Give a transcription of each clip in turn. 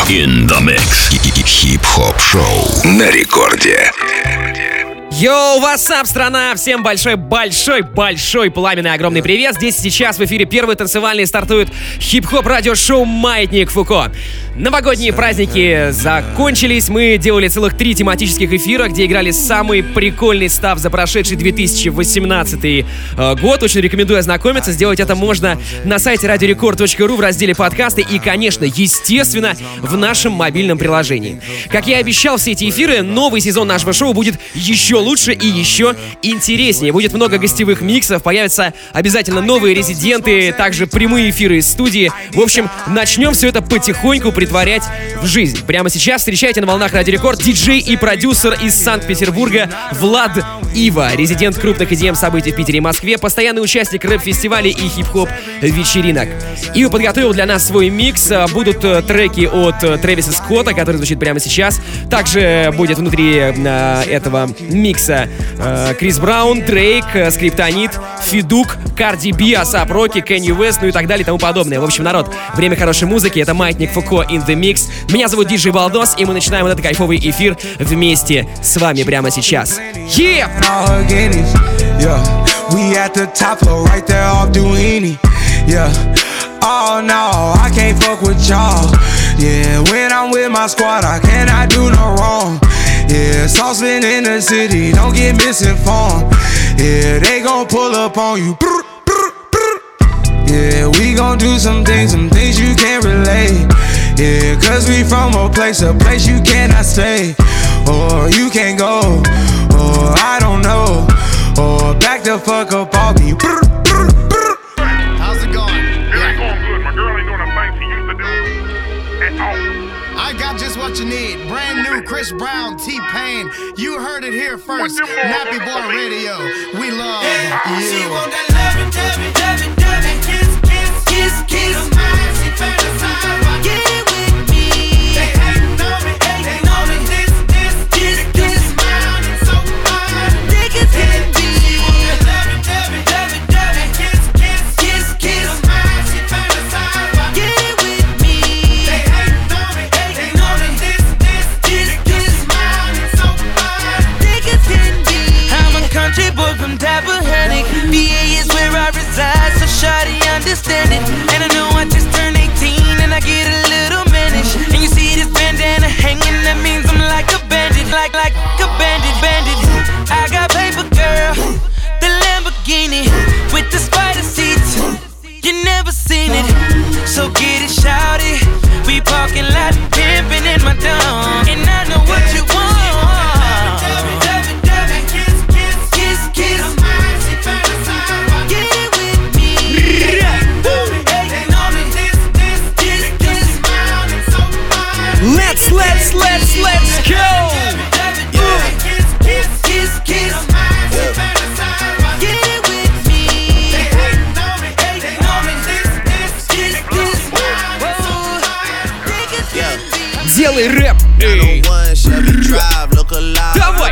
In the mix. Хип-хоп шоу на рекорде. Йоу, вассап, страна! Всем большой пламенный огромный привет! Здесь сейчас в эфире первый танцевальный стартует хип-хоп радиошоу «Маятник Фуко». Новогодние праздники закончились, мы делали целых 3 тематических эфира, где играли самый прикольный став за прошедший 2018 год. Очень рекомендую ознакомиться, сделать это можно на сайте radiorecord.ru в разделе подкасты и, конечно, естественно, в нашем мобильном приложении. Как я и обещал, все эти эфиры, новый сезон нашего шоу будет еще лучше и еще интереснее. Будет много гостевых миксов, появятся обязательно новые резиденты, также прямые эфиры из студии. В общем, начнем все это потихоньку притворять в жизнь. Прямо сейчас встречайте на волнах Радио Рекорд диджей и продюсер из Санкт-Петербурга Влад Ива, резидент крупных EDM событий в Питере и Москве, постоянный участник рэп-фестивалей и хип-хоп вечеринок. Ива подготовил для нас свой микс. Будут треки от Трэвиса Скотта, который звучит прямо сейчас. Также будет внутри этого микса Крис Браун, Дрейк, Скриптонит, Федук, Карди Би, Асап Роки, Кенни Уэст, ну и так далее и тому подобное. В общем, народ, время хорошей музыки, это Маятник Фуко in the Mix. Меня зовут диджей Балдос, и мы начинаем вот этот кайфовый эфир вместе с вами прямо сейчас. Oh no, I can't fuck with y'all. Yeah, when I'm with my squad, I cannot do no wrong. Yeah, saucepan in the city, don't get misinformed. Yeah, they gon' pull up on you. Yeah, we gon' do some things you can't relate. Yeah, cause we from a place you cannot stay. Or you can't go, or I don't know. Or back the fuck up on me. How's it going? It ain't going good. My girl ain't doing the things she used to do at all. I got just what you need. Brand new Chris Brown, T-Pain. You heard it here first. Nappy Boy Radio. We love you. She want that loving, kiss, kiss, kiss, kiss. She fantasize about getting with me. They hating on me, this, kiss, kiss. Smile and so fine, niggas hit me. She want that loving, kiss, kiss, kiss, kiss. She fantasize about getting with me. They hating on me, this, kiss, kiss. Smile and so fine, niggas hit me. I'm a country boy from Tappahannock. VA is where I reside, so shawty understand it. And I know I just turned 18 and I get a little mannish. And you see this bandana hanging, that means I'm like a bandit, like a bandit. I got paper, girl, the Lamborghini with the spider seats. You never seen it, so get it, shawty. We parking lot pimping in my dome, and I know what you want. Let's go! Делай рэп! Эй. Давай!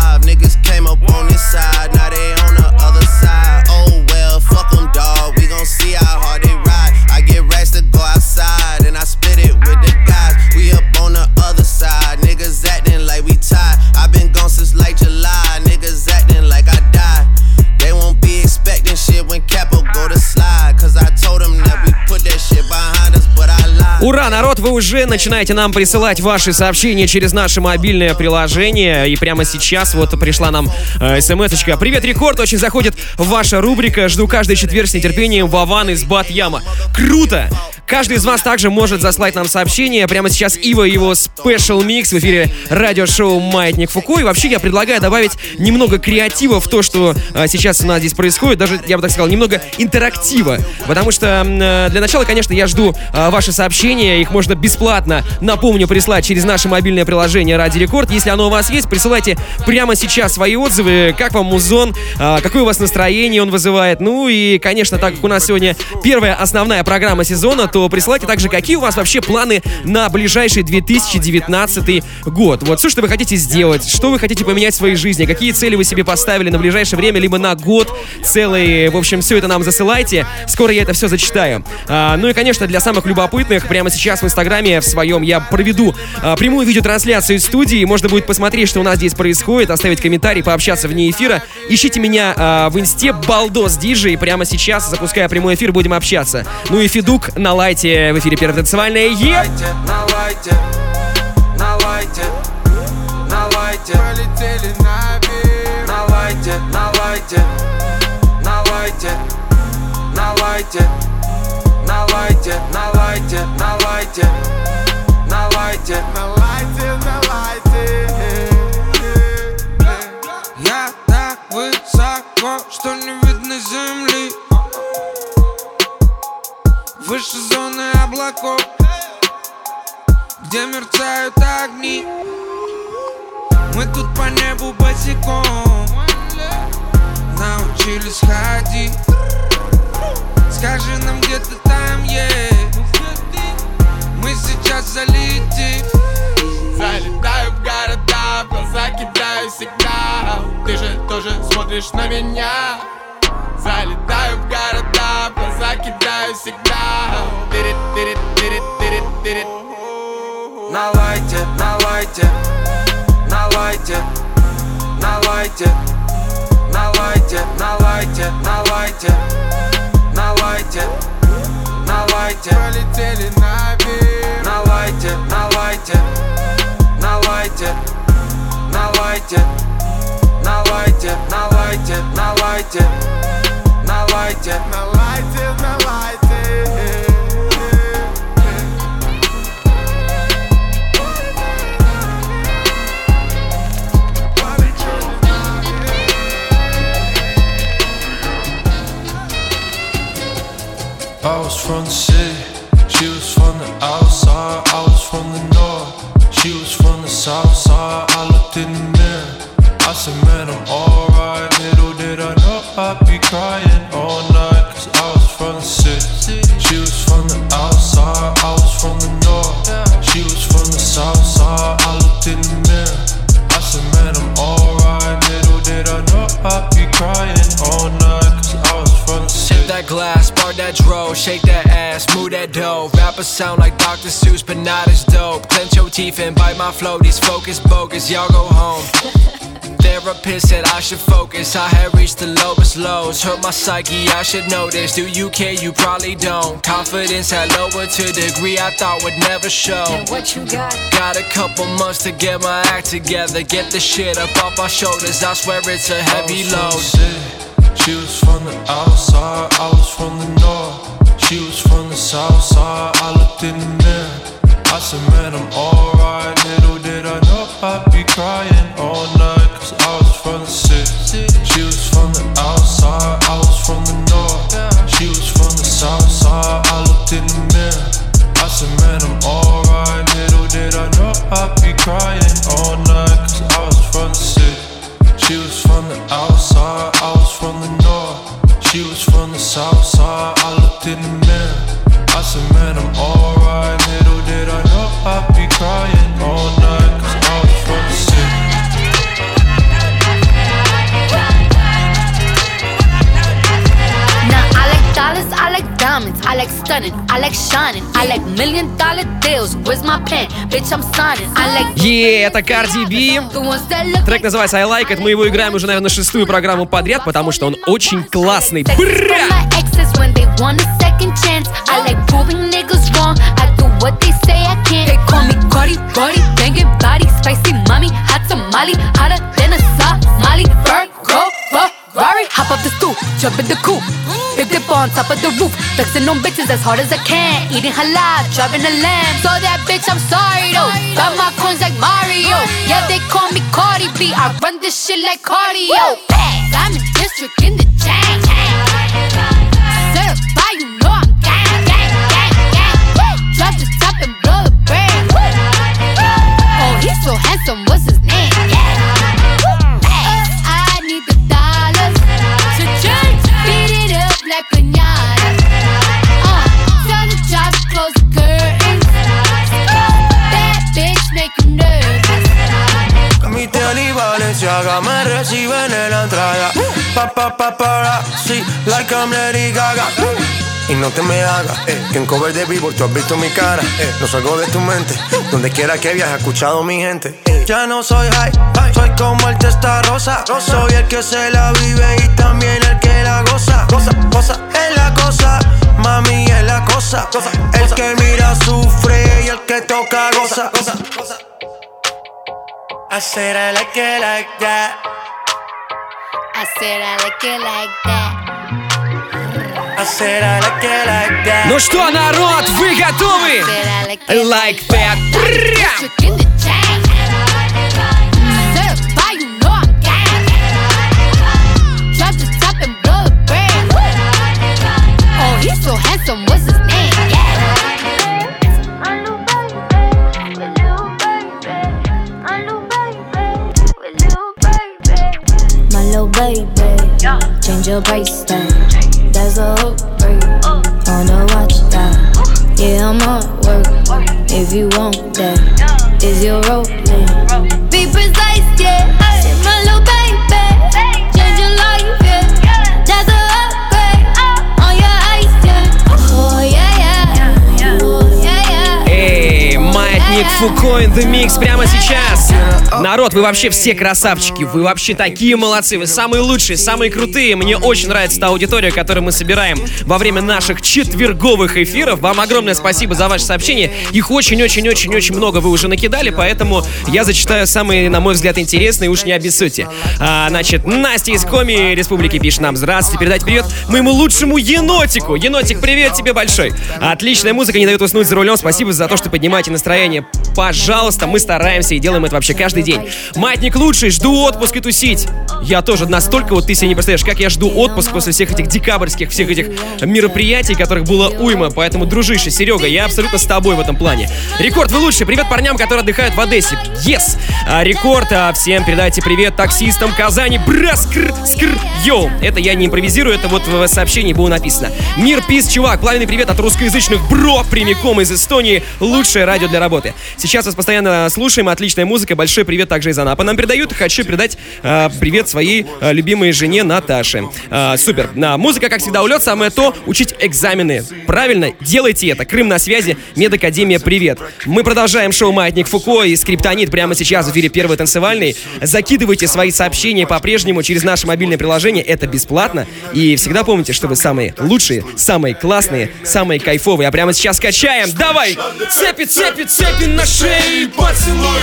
Ура, народ, вы уже начинаете нам присылать ваши сообщения через наше мобильное приложение. И прямо сейчас вот пришла нам смс-очка. Привет, Рекорд, очень заходит ваша рубрика. Жду каждый четверг с нетерпением. Вован из Бат-Яма. Круто! Каждый из вас также может заслать нам сообщение. Прямо сейчас Ива и его спешл микс в эфире радиошоу «Маятник Фуко». И вообще я предлагаю добавить немного креатива в то, что сейчас у нас здесь происходит. Даже, я бы так сказал, немного интерактива. Потому что для начала, конечно, я жду ваши сообщения. Их можно бесплатно, напомню, прислать через наше мобильное приложение «Радио Рекорд». Если оно у вас есть, присылайте прямо сейчас свои отзывы. Как вам музон? Какое у вас настроение он вызывает? Ну и, конечно, так как у нас сегодня первая основная программа сезона, то то присылайте также, какие у вас вообще планы на ближайший 2019 год. Вот, все, что вы хотите сделать, что вы хотите поменять в своей жизни, какие цели вы себе поставили на ближайшее время, либо на год целый. В общем, все это нам засылайте. Скоро я это все зачитаю. Ну и, конечно, для самых любопытных, прямо сейчас в Инстаграме в своем я проведу прямую видеотрансляцию из студии. Можно будет посмотреть, что у нас здесь происходит, оставить комментарий, пообщаться вне эфира. Ищите меня в Инсте Балдос Диджей. Прямо сейчас, запуская прямой эфир, будем общаться. Ну и Федук на лайте в эфире Первое танцевальное. Полетели наверх. На лайте, на лайте, на лайте, на лайте, на лайте, на лайте, на лайте, на лайте, на лайте, на лайте. Я так высоко, что не видно земли. Выше зоны облаков, где мерцают огни. Мы тут по небу босиком научились ходить. Скажи нам, где ты там есть. Мы сейчас залетим. Залетаю в города, в глаза кидаю сигнал. Ты же тоже смотришь на меня. Залетаю в города, в глаза кидаю сигнал. На лайте, на лайте, на лайте, на лайте, на лайте, на лайте, на лайте, на лайте, на лайте. Полетели наверх. На лайте, на лайте, на лайте, на лайте, на лайте, на лайте, на лайте, на лайте, на лайте, на лайте. I was from the city, she was from the outside. I was from the north, she was from the south side. I looked in the mirror, I said, man, I'm alright. Little did I know I'd be crying all night. Cause I was from the city, she was from the outside. I was from the north, she was from the south side. I looked in the mirror, I said, man, I'm alright. Little did I know I'd be crying all night. Cause I was from the city. That glass, spark that dro, shake that ass, move that dough. Rappers sound like Dr. Seuss, but not as dope. Clench your teeth and bite my flow. These focus bogus, y'all go home. Therapist said I should focus. I had reached the lowest lows. Hurt my psyche, I should know this. Do you care? You probably don't. Confidence had lowered to a degree I thought would never show. And what you got? Got a couple months to get my act together. Get the shit up off my shoulders. I swear it's a heavy load. She was from the outside, I was from the north. She was from the south side, I looked in the mirror. I said, man, I'm alright. Little did I know I'd be crying all night. Cause I was from the city, she was from the outside. I was from the north, she was from the south side. I looked in the mirror, I said, man, I'm alright. Little did I know I'd be crying all night. Cause I was from the city, she was from the outside. I was from the north, she was from the south side. I looked in the mirror, I said, man, I'm alright. Little did I know I'd be crying all night. Cause I was from the city. Now I like dollars, I like diamonds, I like stunning, I like shining, I like $1 million deals. Where's my pen? Bitch, I'm signing. I like Это Cardi B. the ones that look Трек называется I Like It. Мы его играем уже, наверное, 6-ю программу подряд, потому что он очень классный. for my exes when they want a second chance. I like proving niggas wrong. I do what they say I can't. They call me Cardi, Cardi, banging body, spicy mommy, hot tamale, hotter than a Somali. Virgo, Ferrari, hop up the stoop, jump in the coupe, big dip on top of the roof, flexing on bitches as hard as I can, eating halal, driving a lamb. So that bitch, I'm sorry though. Got my coins like Mario. Yeah, they call me Cardi B. I run this shit like cardio. I'm in district in the chain. Certified, you know I'm gang, gang, gang, gang. Drop the top and blow the brain. Oh, he's so handsome, what's his name? I need the dollars to beat it up like piñata. Tell the job ella me recibe en la entrada. Paparazzi, like I'm Lady Gaga. Y no te me hagas, que en cover de Billboard tú has visto mi cara. No salgo de tu mente, donde quiera que viajes, he escuchado mi gente. Ya no soy high, soy como el testarosa. Soy el que se la vive y también el que la goza. Cosa es la cosa, mami es la cosa. El que mira sufre y el que toca goza. I said I like it like that. I said I like it like that. I said I like it like that. Ну что, народ, вы готовы? Like that. Trick in the chain. Certified, you know I'm gang. Drop the top and blow the brand. Oh, he's so handsome, what's his name? My little baby, change your price tag. That's a upgrade on the watch that. Yeah, I'm on work. If you want that, is your role? Be precise, yeah. Say my little baby, change your life, yeah. That's a upgrade on your ice, yeah. Oh yeah, yeah. Oh yeah, yeah. Эй, Маятник Фуко in the mix прямо сейчас. Народ, вы вообще все красавчики, вы вообще такие молодцы, вы самые лучшие, самые крутые. Мне очень нравится та аудитория, которую мы собираем во время наших четверговых эфиров. Вам огромное спасибо за ваши сообщения. Их очень-очень-очень-очень много вы уже накидали, поэтому я зачитаю самые, на мой взгляд, интересные, уж не обессудьте. Значит, Настя из Коми Республики пишет нам: здравствуйте, передайте привет моему лучшему енотику. Енотик, привет тебе большой. Отличная музыка не дает уснуть за рулем. Спасибо за то, что поднимаете настроение. Пожалуйста, мы стараемся и делаем это вообще каждый день. Маятник лучший, жду отпуск и тусить. Я тоже настолько, вот ты себе не представляешь, как я жду отпуск после всех этих декабрьских, всех этих мероприятий, которых было уйма. Поэтому, дружище, Серега, я абсолютно с тобой в этом плане. Рекорд, вы лучшие. Привет парням, которые отдыхают в Одессе. Yes! Рекорд, всем передайте привет таксистам Казани. Браскр, скр, йоу. Это я не импровизирую, это вот в сообщении было написано. Мир, пис, чувак, пламенный привет от русскоязычных бро, прямиком из Эстонии. Лучшее радио для работы. Сейчас вас постоянно слушаем, отличная музыка. Большой привет также из Анапы нам передают. Хочу передать привет своей любимой жене Наташе. Супер. Музыка, как всегда, улет. Самое то — учить экзамены. Правильно, делайте это. Крым на связи. Медакадемия, привет. Мы продолжаем шоу «Маятник Фуко» и «Скриптонит» прямо сейчас в эфире «Первый танцевальный». Закидывайте свои сообщения по-прежнему через наше мобильное приложение. Это бесплатно. И всегда помните, что вы самые лучшие, самые классные, самые кайфовые. А прямо сейчас качаем. Давай! Цепи, цепи, цепи на шее, поцелуй.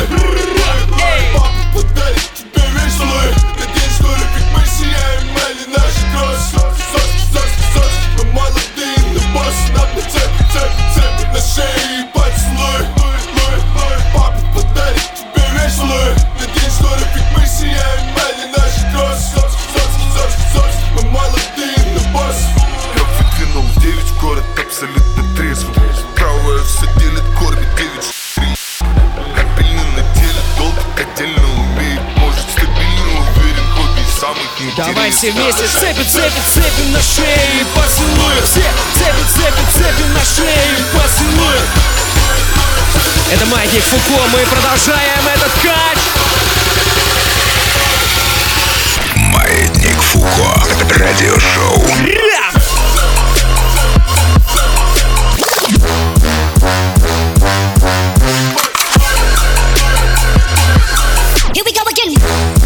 Папа подарит тебе весь слой. Надеюсь, что как мы сияем, мали наши кросс. Мы молодые, но босс. Надо цепи на шее, поцелуй. Папа подарит тебе весь слой. Надеюсь, что как мы сияем, мали наши кросс. Мы молодые, но босс. Я выдвинул 9 в город абсолютно трезвым. Правая все делит, кормит 9. Давай все вместе. Цепи, цепи, цепи на шее, поцелуй. Все цепи, цепи, цепи на шее, поцелуй. Это Маятник Фуко, мы продолжаем этот кач. Маятник Фуко. Радиошоу. Here we go again.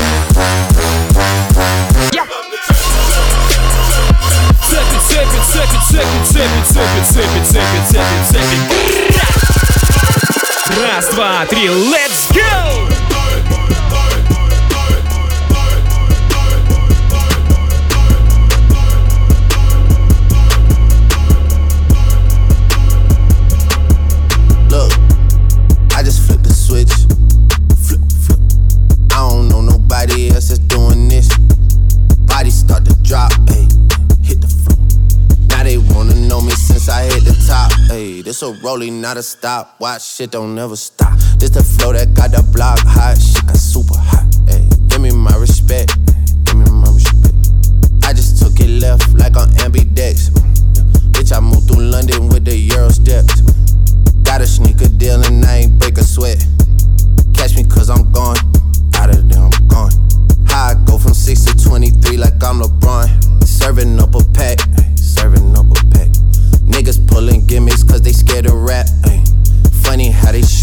Цепи. Раз, два, три, let's go! Look, I just flipped the switch. Flip. I don't know nobody else that's doing this. Body start to drop, ayy. Hit the floor. Now they wanna know me since I hit the top, ayy. This a rolling, not a stop. Watch shit don't never stop. This the flow that got the block hot. Shit got super hot, ayy. Give me my respect. Give me my respect. I just took it left like on ambidex. Bitch, I moved through London with the Euro steps. Got a sneaker deal and I ain't break a sweat. Catch me cause I'm gone. Out of there, I'm gone. How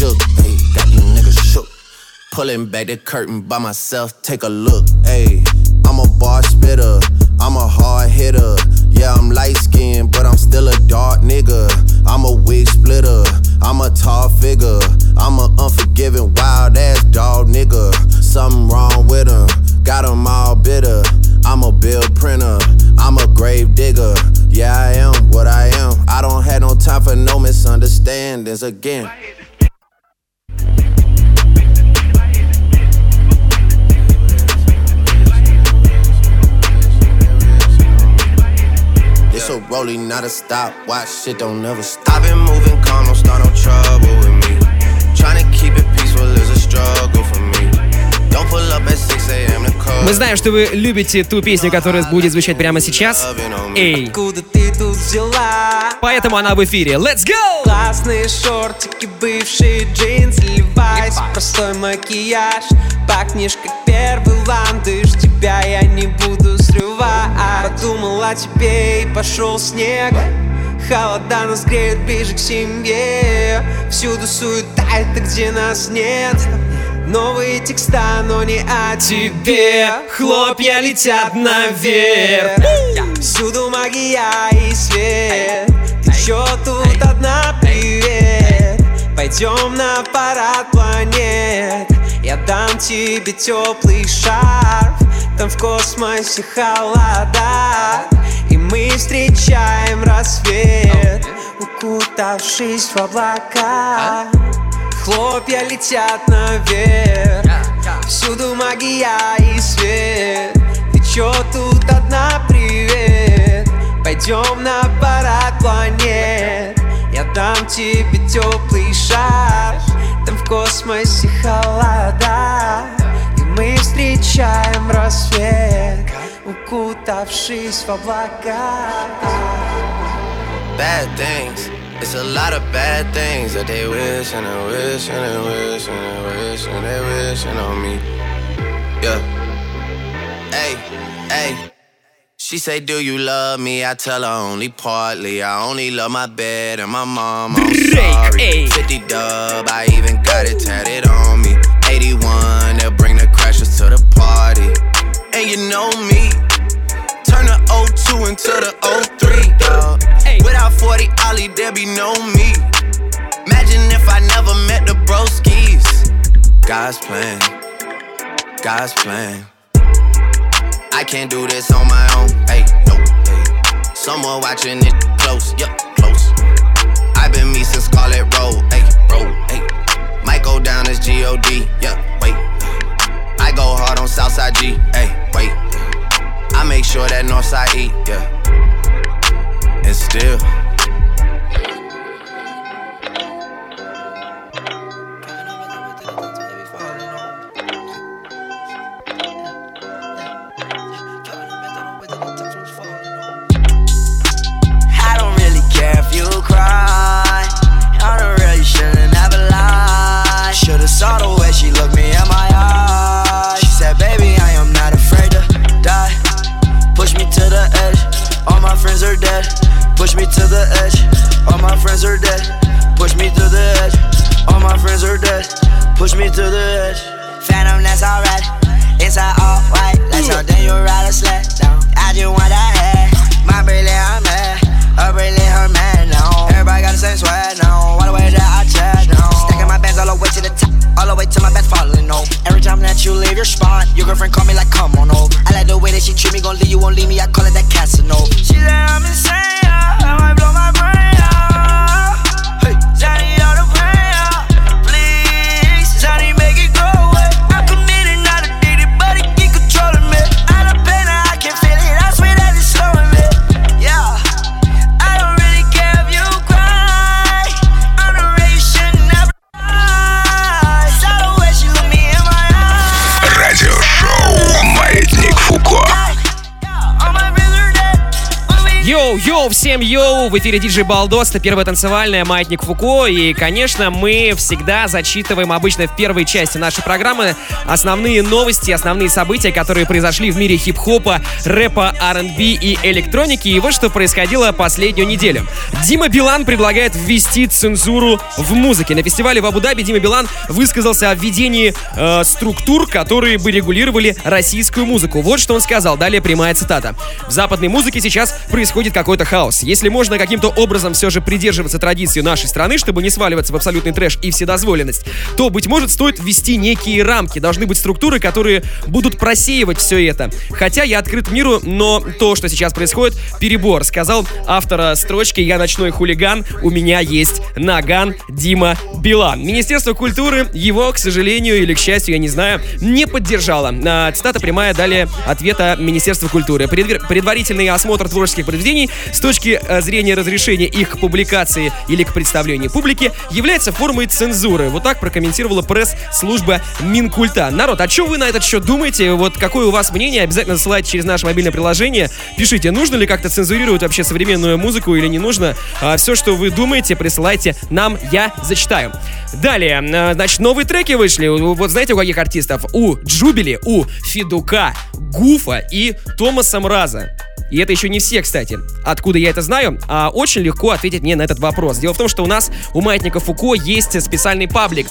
shook, ayy, got these niggas shook. Pulling back the curtain by myself, take a look, ayy. I'm a bar spitter, I'm a hard hitter. Yeah, I'm light skinned, but I'm still a dark nigga. I'm a wig splitter, I'm a tall figure. I'm a unforgiving, wild ass dog nigga. Something wrong with him, got him all bitter. I'm a bill printer, I'm a grave digger. Yeah, I am what I am. I don't have no time for no misunderstandings again. It's a rolling, not a stop. Watch shit don't never stop. I've been moving calm, don't start no trouble with me. Trying to keep it peaceful is a struggle for me. Don't pull up at 6 a.m. to call. Мы знаем, что вы любите ту песню, которая будет звучать прямо сейчас. Эй. Откуда ты тут взяла? Поэтому она в эфире. Let's go! Классные шортики, бывшие джинсы, Levi's, простой макияж. Пахнешь как первый ландыш, тебя я не буду срывать. Подумал о тебе и пошел снег. Холода нас греют ближе к семье. Всюду суета, это где нас нет. Новые текста, но не о тебе. Хлопья летят наверх. Всюду магия и свет. Ты чё тут одна, привет? Пойдем на парад планет. Я дам тебе теплый шарф. Там в космосе холода, и мы встречаем рассвет, укутавшись в облака. Хлопья летят наверх. Всюду магия и свет. Ты чё тут одна, привет? Пойдем на парад планет. Я дам тебе теплый шарф. Там в космосе холода, и мы встречаем рассвет, укутавшись в облака. Bad things, it's a lot of bad things that they wish and they wish and they wish and they wish and they wishing on me. Yeah. Hey, hey. She say, do you love me? I tell her only partly. I only love my bed and my mom. I'm sorry. 50 dub, I even got it tatted on me. 81, they'll bring the crashers to the party. And you know me, turn the 02 into the 03, dog. Without 40 Ollie, there be no me. Imagine if I never met the broskies. God's plan, God's plan. I can't do this on my own, hey, no, hey. Someone watching it close, yup, close. I've been me since Scarlet Road, hey, road, hey. Might go down as G.O.D., yeah, wait. I go hard on Southside G, hey, wait. I make sure that Northside E, yeah. And still saw the way she looked me in my eyes. She said, baby, I am not afraid to die. Push me to the edge, all my friends are dead. Push me to the edge, all my friends are dead. Push me to the edge, all my friends are dead. Push me to the edge. Phantom, that's alright. Inside all white, like something you ride a sled down. I just want that head. My brilliant, I'm mad. Her brilliant, her man now. Everybody got the same swag now. All the way that I chat now. Stacking my bands all the way to the top. All the way to my back falling over. Every time that you leave your spot, your girlfriend call me like, come on over. I like the way that she treat me, gon' leave you, won't leave me. I call it that Casanova. She said I'm insane, I might blow my brain out. Hey, Johnny, all the pain out. Please, Johnny, make it go away. I'm committed, not addicted, but it keep controlling me. I love pain, I can feel it. I swear that it's slowing me. Yeah, I don't really care if you cry. I'm the way you should never. Йоу, Йоу, всем йоу! В эфире диджей Балдос, это первая танцевальная, Маятник Фуко. И, конечно, мы всегда зачитываем обычно в первой части нашей программы основные новости, основные события, которые произошли в мире хип-хопа, рэпа, R&B и электроники. И вот что происходило последнюю неделю. Дима Билан предлагает ввести цензуру в музыке. На фестивале в Абу-Даби Дима Билан высказался о введении структур, которые бы регулировали российскую музыку. Вот что он сказал. Далее прямая цитата. В западной музыке сейчас происходит какой-то хаос. Если можно каким-то образом все же придерживаться традиции нашей страны, чтобы не сваливаться в абсолютный трэш и вседозволенность, то, быть может, стоит ввести некие рамки. Должны быть структуры, которые будут просеивать все это. Хотя я открыт миру, но то, что сейчас происходит, перебор, сказал автора строчки «Я ночной хулиган, у меня есть наган» Дима Билан. Министерство культуры его, к сожалению или к счастью, я не знаю, не поддержало. Цитата прямая, далее ответа Министерства культуры. Предварительный осмотр творческих произведений с точки зрения разрешения их к публикации или к представлению публике является формой цензуры. Вот так прокомментировала пресс-служба Минкульта. Народ, а что вы на этот счет думаете? Вот какое у вас мнение? Обязательно ссылайте через наше мобильное приложение. Пишите, нужно ли как-то цензурировать вообще современную музыку или не нужно. Все, что вы думаете, присылайте нам, я зачитаю. Далее, значит, новые треки вышли. Вот знаете, у каких артистов? У Джубили, у Федука, Гуфа и Томаса Мраза. И это еще не все, кстати. Откуда я это знаю? Очень легко ответить мне на этот вопрос. Дело в том, что у нас, у Маятника Фуко, есть специальный паблик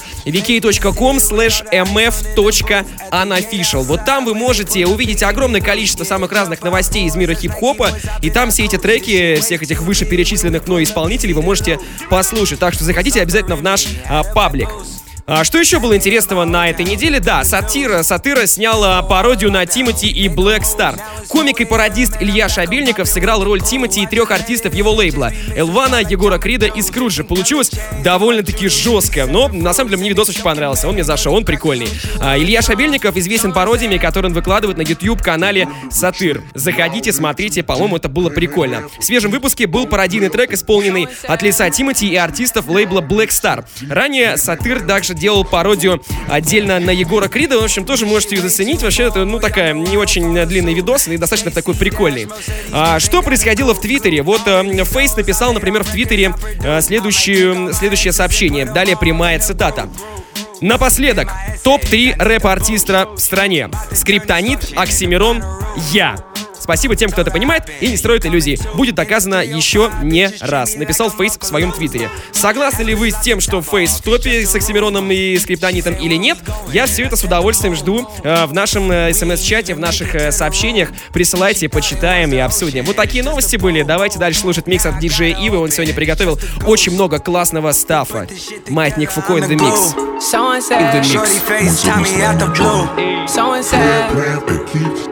vk.com/mf.unofficial. Вот там вы можете увидеть огромное количество самых разных новостей из мира хип-хопа. И там все эти треки, всех этих вышеперечисленных мной исполнителей вы можете послушать. Так что заходите обязательно в наш паблик. Что еще было интересного на этой неделе? Да, Сатира снял пародию на Тимати и Black Star. Комик и пародист Илья Шабельников сыграл роль Тимати и 3 артистов его лейбла: Элвана, Егора Крида и Скруджа. Получилось довольно-таки жестко, но на самом деле мне видос очень понравился, он мне зашел, он прикольный. Илья Шабельников известен пародиями, которые он выкладывает на YouTube-канале Сатир. Заходите, смотрите, по-моему, это было прикольно. В свежем выпуске был пародийный трек, исполненный от лица Тимати и артистов лейбла Black Star. Ранее Сатир также делал пародию отдельно на Егора Крида. В общем, тоже можете ее заценить. Вообще, это, такая не очень длинный видос и достаточно такой прикольный. Что происходило в Твиттере? Вот Фейс написал, например, в Твиттере следующее сообщение. Далее прямая цитата. Напоследок, топ-3 рэп-артиста в стране. Скриптонит, Оксимирон, я. Спасибо тем, кто это понимает и не строит иллюзий. Будет доказано еще не раз. Написал Фейс в своем твиттере. Согласны ли вы с тем, что Фейс в топе с Оксимироном и Скриптонитом или нет? Я все это с удовольствием жду в нашем смс-чате, в наших сообщениях. Присылайте, почитаем и обсудим. Вот такие новости были. Давайте дальше слушать микс от диджея Ивы. Он сегодня приготовил очень много классного стафа. Маятник Фуко in the mix. In the mix.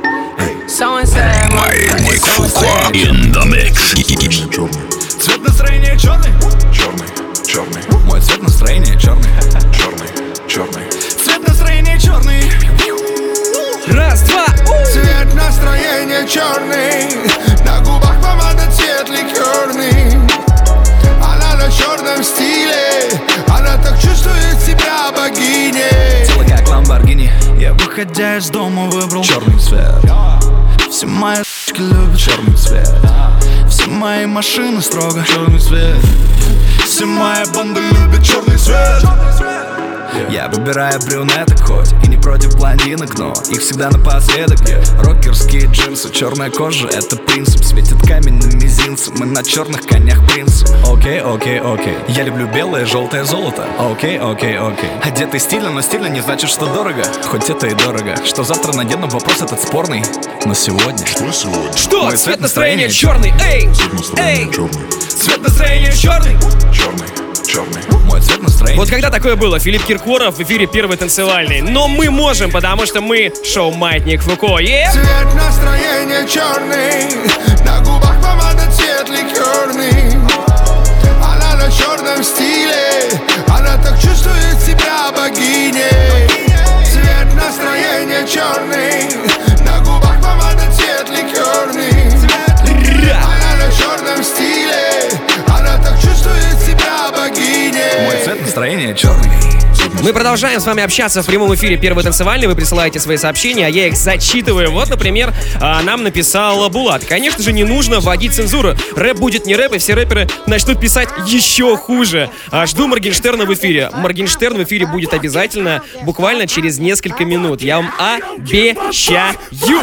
Маятник Фуко in the mix. Цвет настроения черный, черный, черный. Мой цвет настроения черный, черный, черный. Цвет настроения черный. Раз, два. Цвет настроения черный. На губах помада цвет ликерный. Она на черном стиле. Она так чувствует себя богиней. Тело как Ламборгини. Я, выходя из дома, выбрал черный цвет. Все мои любят черный цвет. Все мои машины строго черный цвет. Все моя банда любит черный цвет. Я выбираю брюнеток хоть и не против блондинок, но их всегда напоследок. Рокерские джинсы, черная кожа, это принцип. Светит камень на мизинце, мы на черных конях принцы. Окей, окей, окей. Я люблю белое, желтое золото. Окей, окей, окей. Одетый стильно, но стильно не значит, что дорого. Хоть это и дорого. Что завтра надену, вопрос этот спорный. Но сегодня... Что сегодня? Что? Мой Цвет настроения черный. Эй! Эй! Цвет настроения черный. Черный. Черный. Мой цвет настроения. Вот когда такое было? Филипп Киркоров в эфире первой танцевальной. Но мы можем, потому что мы шоу Маятник Фуко. Цвет настроения черный. На губах помада цвет ликерный. Она на черном стиле. Она так чувствует себя богиней. Цвет настроения черный. На губах помада цвет ликерный. Она на черном стиле. Она так чувствует себя богиней. Мой цвет настроения черный. Мы продолжаем с вами общаться в прямом эфире Первый танцевальный. Вы присылаете свои сообщения, а я их зачитываю. Вот, например, нам написал Булат. Конечно же, не нужно вводить цензуру. Рэп будет не рэп, и все рэперы начнут писать еще хуже. Жду Моргенштерна в эфире. Моргенштерн в эфире будет обязательно, буквально через несколько минут. Я вам обещаю.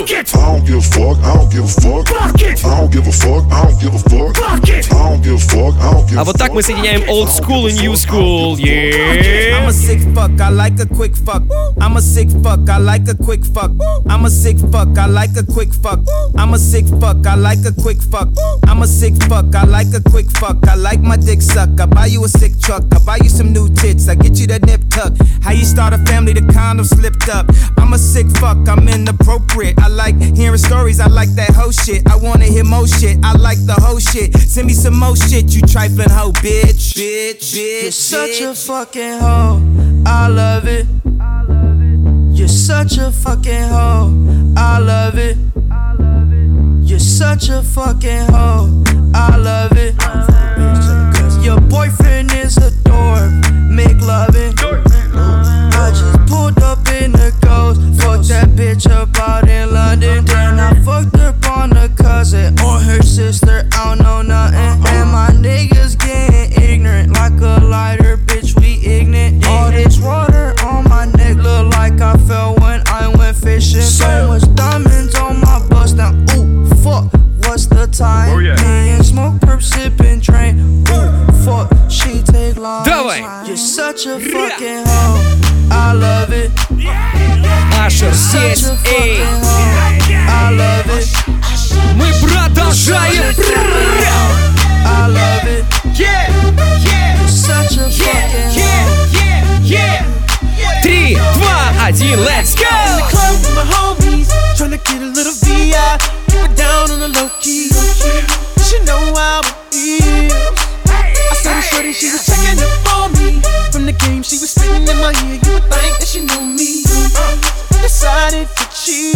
А вот так мы соединяем old school и new school. Yeah. I'm a sick fuck, I like a quick fuck. I'm a sick fuck, I like a quick fuck. I'm a sick fuck, I like a quick fuck. I'm a sick fuck, I like a quick fuck. I'm a sick fuck, I like a quick fuck. I like my dick suck. I buy you a sick truck. I buy you some new tits. I get you that nip tuck. How you start a family, the condom slipped up. I'm a sick fuck, I'm inappropriate. I like hearing stories, I like that whole shit. I wanna hear more shit, I like the whole shit. Send me some more shit, you trifling hoe, bitch. Bitch, bitch. You're such a fucking hoe, I love it. You're such a fucking hoe, I love it. You're such a fucking hoe, I love it. Your boyfriend is a dork, make loving. I just pulled up in the Ghost, fucked that bitch up out in London. Then I fucked up on a cousin or her sister, I don't know nothing. And my niggas getting ignorant like a lighter, bitch, we ignorant. All this water on my neck look like I fell when I went fishing. So much diamonds on my bust now, ooh, fuck, what's the time? Me and smoke, perp, sipping, drain, ooh, fuck, she take long. You're such a fucking hoe, I love it. Ашер здесь, эй! I love it. Мы продолжаем! I love it. Yeah, yeah, you're such a fucking yeah. 3, 2, 1, let's go! In the club with my homies, tryna get a little VI, keep it down on the low key. She know how it is. I saw the shorty, she was checking up on me. From the game, she was spitting in my ear. You would think that she knew me. Decided to cheat.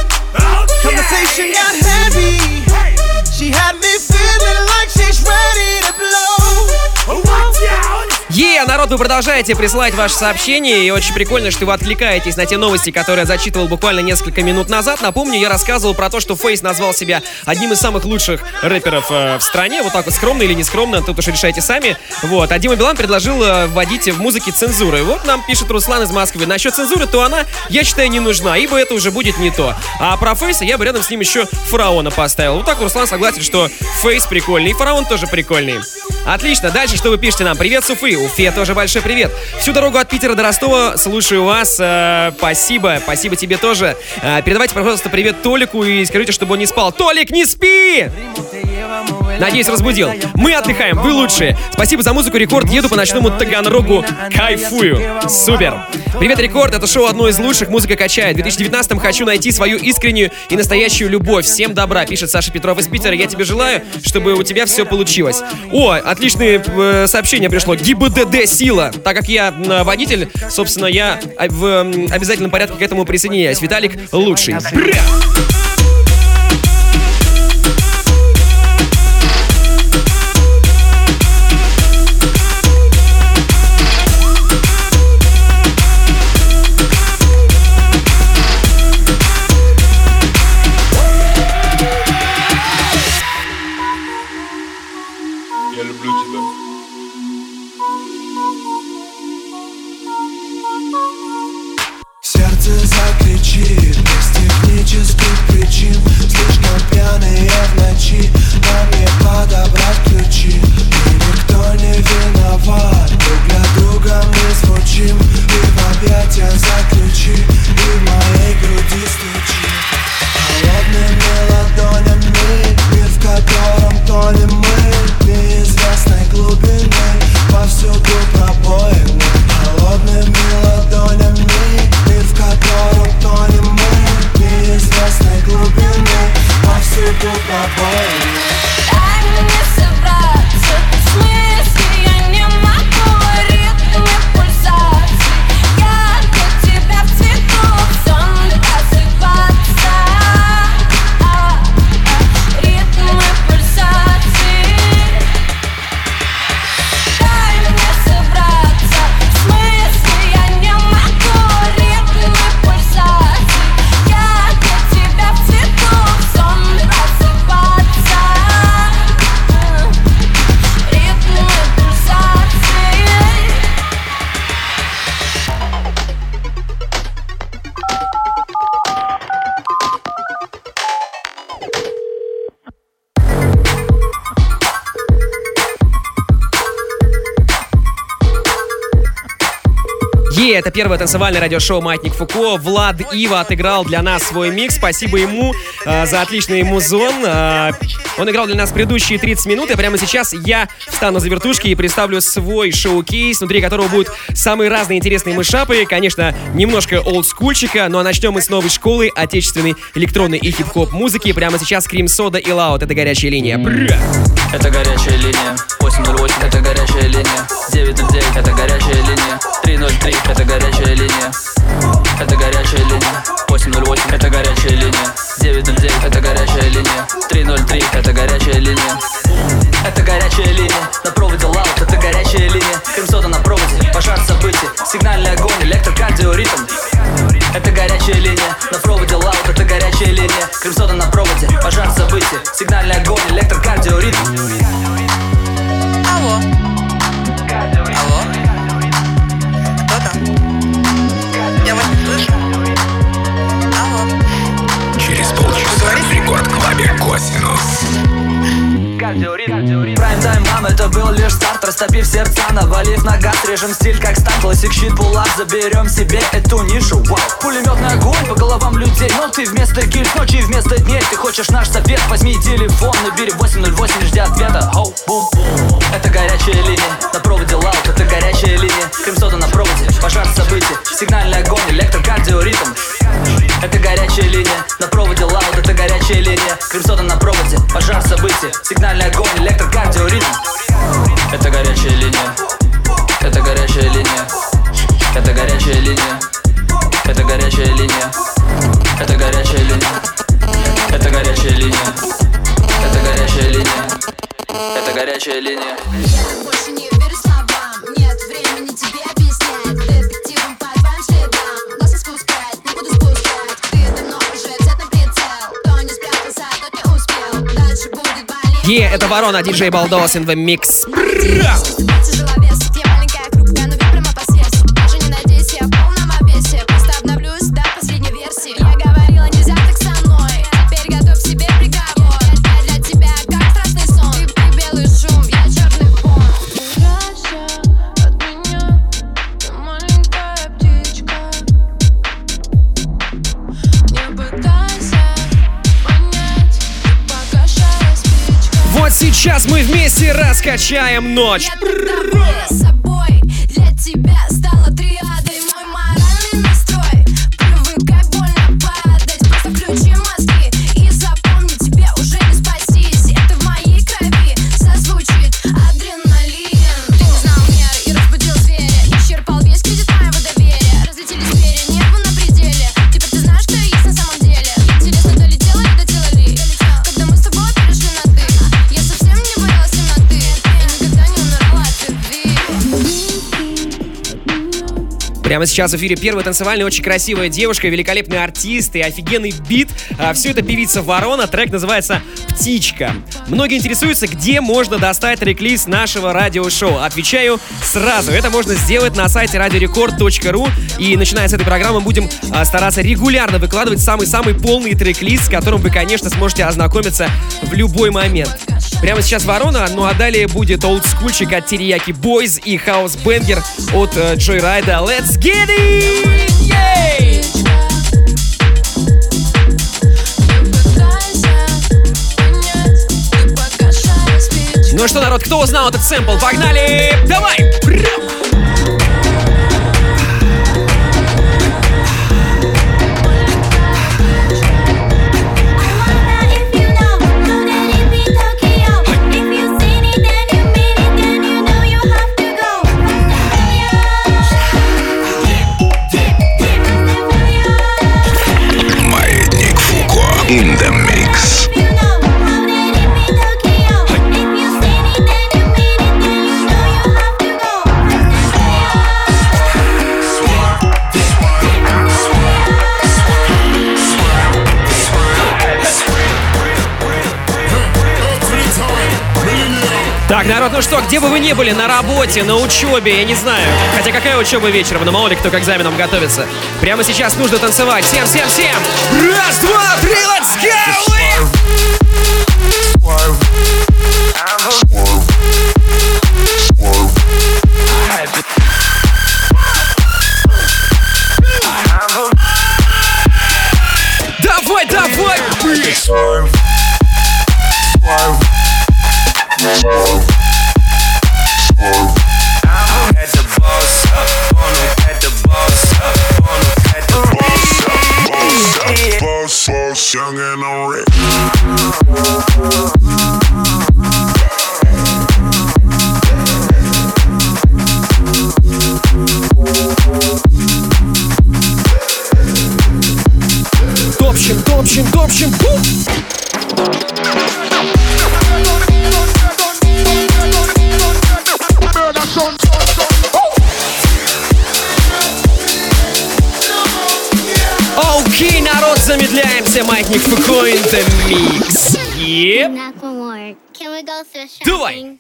Conversation got heavy. She had me feeling like she's ready to blow. Watch out! Народ, вы продолжаете присылать ваши сообщения, и очень прикольно, что вы откликаетесь на те новости, которые я зачитывал буквально несколько минут назад. Напомню, я рассказывал про то, что Фейс назвал себя одним из самых лучших рэперов в стране. Вот так вот, скромно или не скромно, тут уж решайте сами. Вот, а Дима Билан предложил вводить в музыке цензуру. И вот нам пишет Руслан из Москвы. Насчет цензуры, то она, я считаю, не нужна, ибо это уже будет не то. А про Фейса я бы рядом с ним еще Фараона поставил. Вот так Руслан согласен, что Фейс прикольный, и Фараон тоже прикольный. Отлично, дальше что вы пишете нам? Привет с Уфы, Уфе тоже большой привет. Всю дорогу от Питера до Ростова слушаю вас. Спасибо тебе тоже. Передавайте, пожалуйста, привет Толику и скажите, чтобы он не спал. Толик, не спи! Надеюсь, разбудил. Мы отдыхаем, вы лучшие. Спасибо за музыку, Рекорд. Еду по ночному Таганрогу. Кайфую. Супер. Привет, Рекорд. Это шоу одно из лучших. Музыка качает. В 2019-м хочу найти свою искреннюю и настоящую любовь. Всем добра, пишет Саша Петров из Питера. Я тебе желаю, чтобы у тебя все получилось. О, отличное сообщение пришло. ГИБДД сила. Так как я водитель, собственно, я в обязательном порядке к этому присоединяюсь. Виталик лучший. Сердце закричит без технических причин. Это первое танцевальное радиошоу «Маятник Фуко». Влад Ива отыграл для нас свой микс. Спасибо ему за отличный музон. Он играл для нас предыдущие 30 минут, и прямо сейчас я встану за вертушки и представлю свой шоу-кейс, внутри которого будут самые разные интересные мышапы. Конечно, немножко олдскульчика, но начнем мы с новой школы отечественной электронной и хип-хоп музыки. Прямо сейчас Крим Сода и Лаут. Это горячая линия. Это горячая линия. 808 это горячая линия. 909 это горячая линия. 303 это горячая линия. Это горячая линия. 808 это горячая линия. 909 это горячая линия. 303 это горячая линия. Это горячая линия. На проводе лаут, это горячая линия. Крем-сода на проводе, пожар событий. Сигнальный огонь, электрокардиоритм. Это горячая линия. На проводе лаут, это горячая линия. Крем-сода на проводе, пожар событий. Сигнальный огонь, электрокардиоритм. Алло. Алло. Кто там? Я вас не слышу. Алло. Через полчаса в рекорд-клабе «Косинус». Прайм-тайм, мам, это был лишь старт. Растопив сердца, навалив на газ. Режем стиль как стан, классик, щит, пулап. Заберем себе эту нишу, вау. Пулеметный огонь по головам людей. Но ты вместо гильз, ночи вместо дней. Ты хочешь наш совет, возьми телефон. Набери 808, жди ответа. Хоу, бум. Это горячая линия. На проводе лаут, это горячая линия. Крем-сода на проводе, пожар событий. Сигнальный огонь, электрокардиоритм. Это горячая линия. На проводе лаут, это горячая линия. Крем-сода на проводе, пожар событий. Сигнальный огонь, электрокардиоритм. Это горячая линия. Это горячая линия. Это горячая линия. Это горячая линия. Это горячая линия. Это горячая линия. Это горячая линия. Это горячая линия. Больше не верю словам. Нет времени тебе объяснять. Детективом по твоим следам. Глаз не спускать, не буду спускать. Ты давно уже взят на прицел. Кто не спрятался, тот не успел. Дальше будет болеть. Это Ворона, диджей Балдос in the mix. Тяжеловес, я маленькая, хрупкая, но ведь прямо по сердцу. Даже не надейся, я в полном обвесе. Просто обновлюсь до последней версии. Я говорила, нельзя так со мной. Теперь готовь себе приговор. Я для тебя как страшный сон. Ты белый шум, я черный фон. Убирайся от меня, ты маленькая птичка. Не пытайся понять, ты погашая спичка. Вот сейчас мы вместе раскачаем ночь. С собой для тебя стала триадой. Мой моральный настрой. Привыкай больно падать. Просто включи мозги и запомни, тебе уже не спастись. Это в моей крови созвучит адреналин. Ты не знал мер и разбудил зверя. Исчерпал весь кредит моего доверия. Разлетелись перья, нервы на пределе. Теперь ты знаешь, что я есть на самом деле. Интересно, долетела и долетела ли? Когда мы с тобой перешли на ты, я совсем не боялась темноты. И никогда не умирала от любви. Прямо сейчас в эфире первая танцевальная, очень красивая девушка, великолепный артист и офигенный бит. Все это певица Ворона, трек называется «Птичка». Многие интересуются, где можно достать трек-лист нашего радиошоу. Отвечаю сразу. Это можно сделать на сайте radiorecord.ru. И начиная с этой программы будем стараться регулярно выкладывать самый-самый полный трек-лист, с которым вы, конечно, сможете ознакомиться в любой момент. Прямо сейчас Ворона, ну а далее будет олдскульчик от Терияки Бойз и хаус-бенгер от Joyride. Let's get it! Yay! Ну что, народ, кто узнал этот сэмпл? Погнали! Давай! Маятник Фуко in the mix. Так, народ, ну что, где бы вы ни были, на работе, на учебе, я не знаю. Хотя какая учеба вечером, но мало ли кто к экзаменам готовится. Прямо сейчас нужно танцевать. Всем! Раз, два, три, let's go! общем, окей, народ, замедляемся. Маятник Фуко in the mix. Yep. Давай.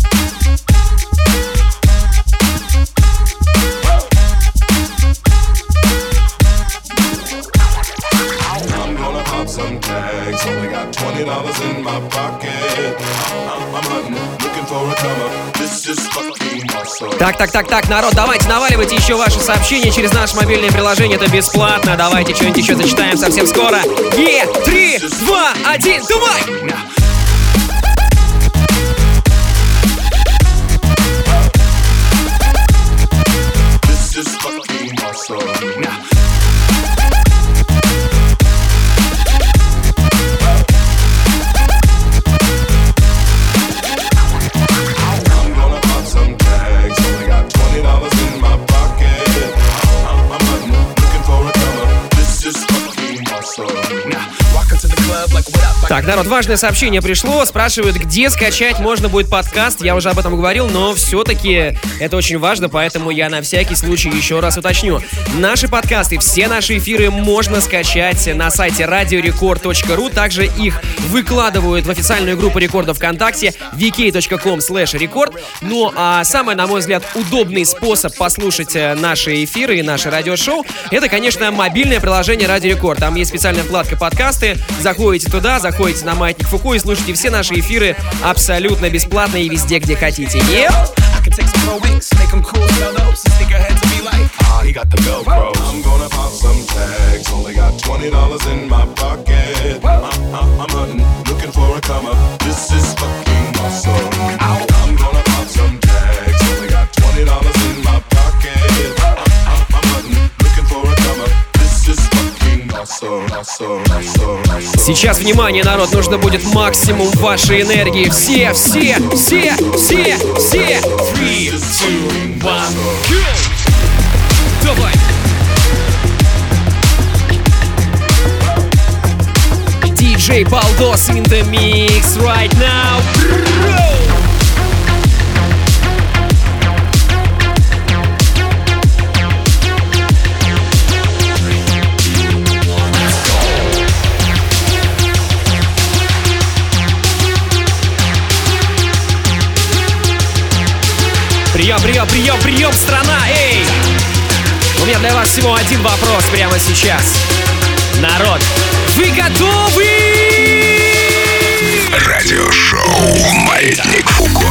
I'm gonna pop some tags. Only got $20 in my pocket. I'm hunting, looking for a come up. This is fucking awesome. Так, народ, давайте наваливайте еще ваши сообщения через наше мобильное приложение, это бесплатно. Давайте что-нибудь еще зачитаем совсем скоро. 3, 2, 1, давай! This is fucking awesome. Так, народ, важное сообщение пришло. Спрашивают, где скачать можно будет подкаст. Я уже об этом говорил, но все-таки это очень важно, поэтому я на всякий случай еще раз уточню. Наши подкасты, все наши эфиры можно скачать на сайте radiorecord.ru. Также их выкладывают в официальную группу рекордов ВКонтакте vk.com/record. Ну, а самый, на мой взгляд, удобный способ послушать наши эфиры и наши радиошоу, это, конечно, мобильное приложение Радио Рекорд. Там есть специальная вкладка «Подкасты». Заходите туда, заходите на Маятник Фуко и слушайте все наши эфиры абсолютно бесплатно и везде, где хотите. He got the Velcro. I'm gonna pop some tags. Only got $20 in my pocket. I'm hunting, looking for a come up. This is fucking awesome. I'm gonna pop some tags. Only got $20 in my pocket. I'm hunting, looking for a come up. This is fucking awesome. Сейчас, внимание, народ, нужно будет максимум вашей энергии. Все! 3, 2, 1, go! Давай! DJ Baldos in the mix right now. Прием, страна, эй! У меня для вас всего один вопрос прямо сейчас. Народ, вы готовы? Радиошоу «Маятник Фуко».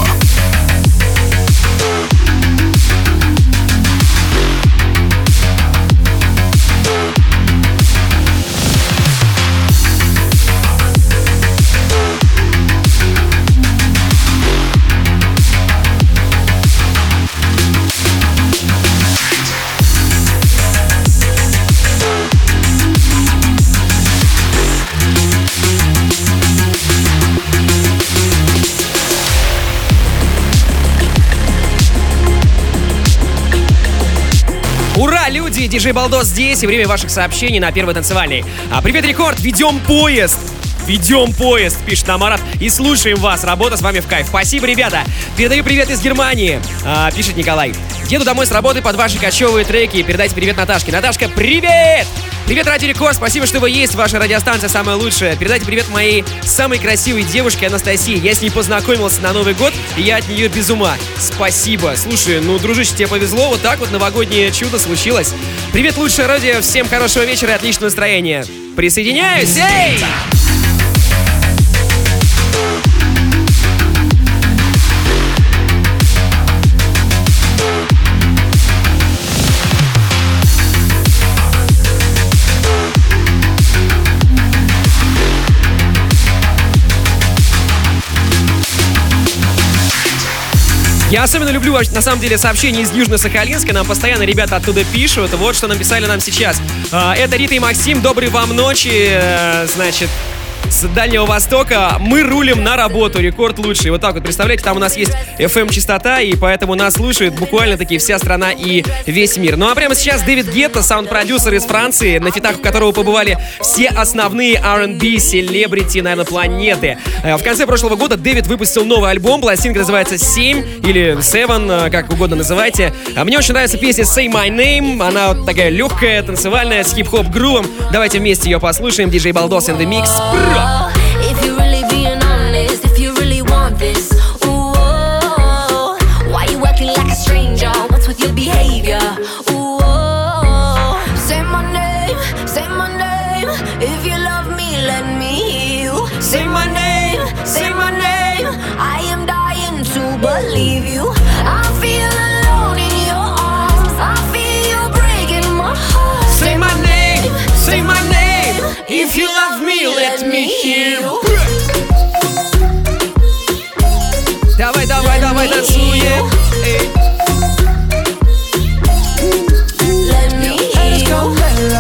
Ура, люди! Диджей Балдос здесь, и время ваших сообщений на Первой танцевальной. Привет, Рекорд! Ведем поезд, пишет нам Марат, и слушаем вас. Работа с вами в кайф. Спасибо, ребята. Передаю привет из Германии, пишет Николай. Еду домой с работы под ваши кочевые треки. Передайте привет Наташке. Наташка, привет! Привет, Радио Рекорд, спасибо, что вы есть. Ваша радиостанция самая лучшая. Передайте привет моей самой красивой девушке Анастасии. Я с ней познакомился на Новый год, и я от нее без ума. Спасибо. Слушай, ну, дружище, тебе повезло. Вот так вот новогоднее чудо случилось. Привет, лучшее радио. Всем хорошего вечера и отличного настроения. Присоединяюсь. Эй! Я особенно люблю, на самом деле, сообщения из Южно-Сахалинска. Нам постоянно ребята оттуда пишут. Вот что написали нам сейчас. Это Рита и Максим. Доброй вам ночи. Значит, с Дальнего Востока. Мы рулим на работу, рекорд лучший. Вот так вот, представляете, там у нас есть FM-частота, и поэтому нас слушает буквально-таки вся страна и весь мир. Ну а прямо сейчас Дэвид Гетта, саунд-продюсер из Франции, на фитах у которого побывали все основные R&B селебрити, наверное, планеты. В конце прошлого года Дэвид выпустил новый альбом, пластинка называется «7» или «7», как угодно называйте. Мне очень нравится песня «Say My Name», она вот такая легкая, танцевальная, с хип-хоп грувом. Давайте вместе ее послушаем. DJ Baldos in the Mix. If you really being honest, if you really want this, ooh, why you acting like a stranger? What's with your behavior? Ooh, say my name, if you love me, let me hear you. Say my name, I am dying to believe you. I feel alone in your arms, I feel you breaking my heart. Say my name, if you love me, let me hear you. Давай, танцуем. Let me hear you.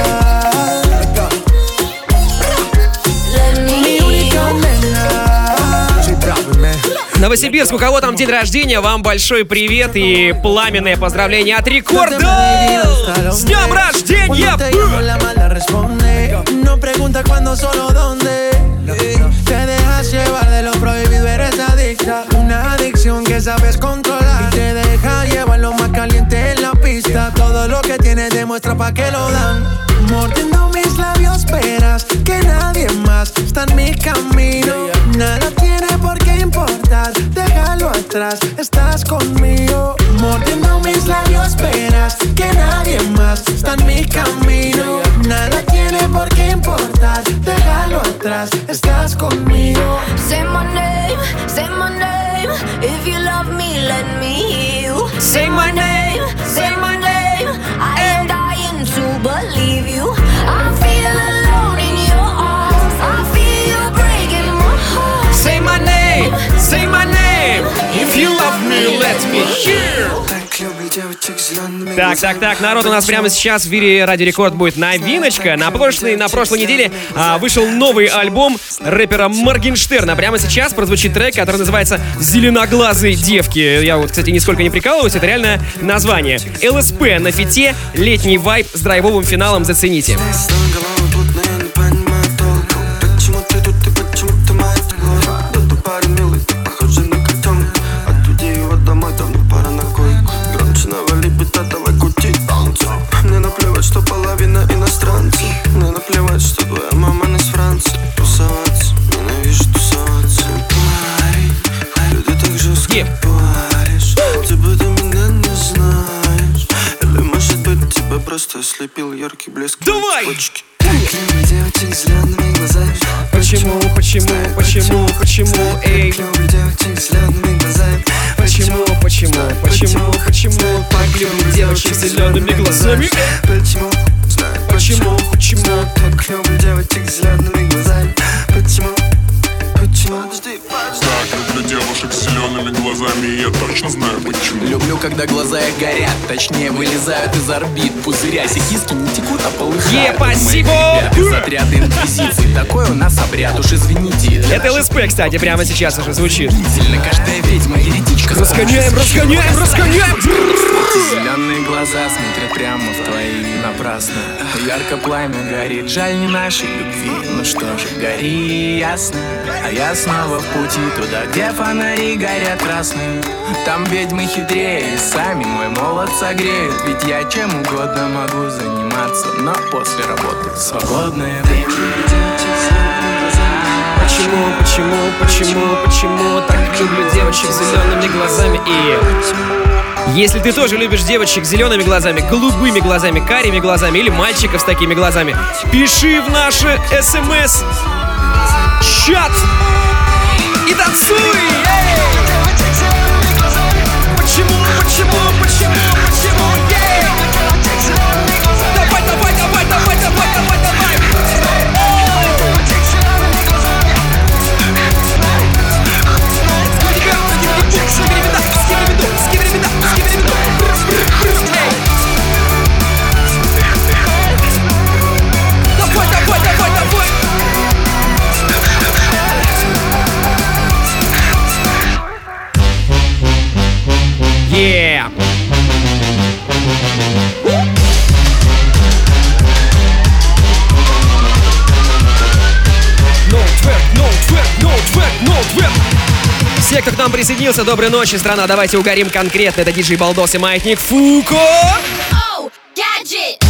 Let me hear you. Новосибирск, у кого там день рождения, вам большой привет и пламенное поздравление от Рекорда! С днем рождения! No pregunta cuándo, solo dónde. Te dejas llevar de lo prohibido, eres adicta. Una adicción que sabes controlar. Y te deja llevar lo más caliente en la pista. Todo lo que tienes demuestra pa' que lo dan. Mordiendo mis labios, verás que nadie más está en mi camino. Nada tiene por qué importar, déjalo atrás, estás conmigo. Mordiendo mis labios, verás que nadie más está en mi camino. Nada tiene por qué importar, déjalo atrás, estás conmigo. Say my name, if you love me, let me hear you. Say my name, I am dying to believe you. I feel alone in your arms, I feel you breaking my heart. Say my name, if you love me, let me hear. Так, народ, у нас прямо сейчас в эфире Радио Рекорд будет новиночка. На прошлой неделе вышел новый альбом рэпера Моргенштерна. Прямо сейчас прозвучит трек, который называется «Зеленоглазые девки». Я вот, кстати, нисколько не прикалываюсь, это реальное название. ЛСП на фите, летний вайб с драйвовым финалом, зацените. Мне наплевать, что половина иностранцев. Мне наплевать, что твоя мама не с Франции. Тусоваться, ненавижу тусоваться. Парень, люди так жестко паришь. Типа ты меня не знаешь. Или может быть тебя просто ослепил яркий блеск цепочки. Так люблю девочек с зелеными глазами. Почему, эй? Так люблю девочек с зелеными глазами. Почему? Так люблю девочек с зелеными глазами. Почему? Так люблю девочек с зелеными глазами. Почему? Так, люблю девушек с зелеными глазами, и я точно знаю почему. Люблю, когда глаза их горят, точнее вылезают из орбит. Пузырясь и киски не текут, а полыхают. Спасибо! Из отряда инквизиции, такой у нас обряд, уж извините. Это ЛСП, кстати, прямо сейчас уже звучит. Каждая ведьма еретичка. Разгоняем! Зеленые глаза смотрят прямо в твои напрасно. Ярко пламя горит, жаль не нашей любви. Ну что же, гори ясно. А я снова в пути туда, где фонари горят красные. Там ведьмы хитрее, и сами мой молот согреют. Ведь я чем угодно могу заниматься, но после работы свободное время. Почему так люблю девочек с зелеными глазами? И если ты тоже любишь девочек с зелеными глазами, голубыми глазами, карими глазами или мальчиков с такими глазами, пиши в наши СМС чат и танцуй! Почему? кто к нам присоединился. Доброй ночи, страна. Давайте угорим конкретно. Это диджей Балдос и Маятник Фуко. Oh, gadget.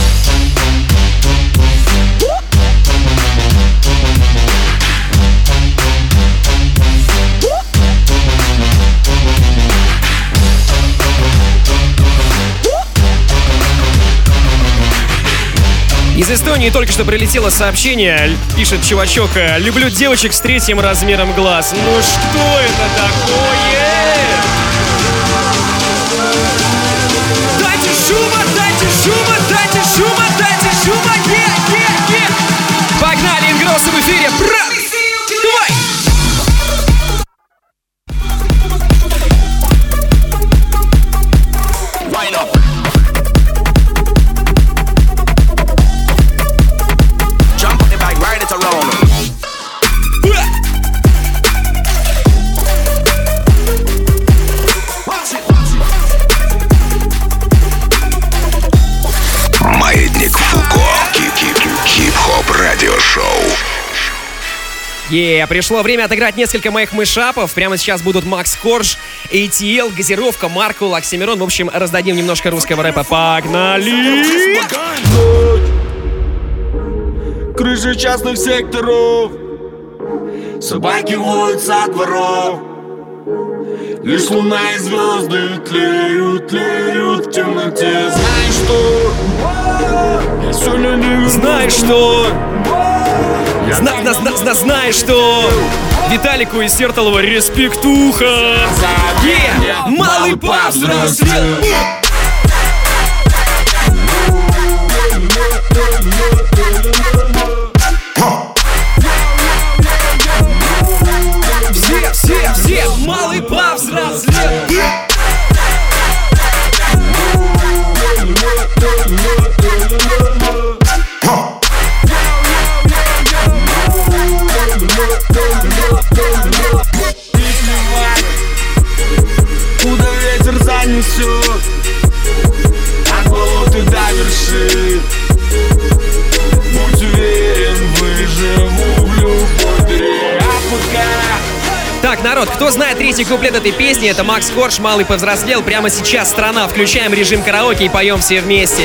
Из Эстонии только что прилетело сообщение, пишет чувачок: люблю девочек с 3 размером глаз. Ну что это такое? Дайте шума, дайте шума, дайте шума, дайте шума, Погнали, Ингроссы в эфире, брат! Давай! Пришло время отыграть несколько моих мышапов. Прямо сейчас будут Макс Корж, ATL, Газировка, Маркул, Оксимирон. В общем, раздадим немножко русского рэпа. Погнали! Крыши частных секторов, собаки воют со дворов. Лишь луна и звезды тлеют, тлеют в темноте. Знаешь что? Я сегодня не... Знаешь что? Знаешь что? Виталику из Сертолова респектуха. Малый повзрослел. Все, малый повзрослел. Куда ветер занесет, от болота до вершин. Будь уверен, выживу в любой дыре. Так, народ, кто знает третий куплет этой песни, это Макс Корж, Малый повзрослел. Прямо сейчас, страна, включаем режим караоке и поем все вместе.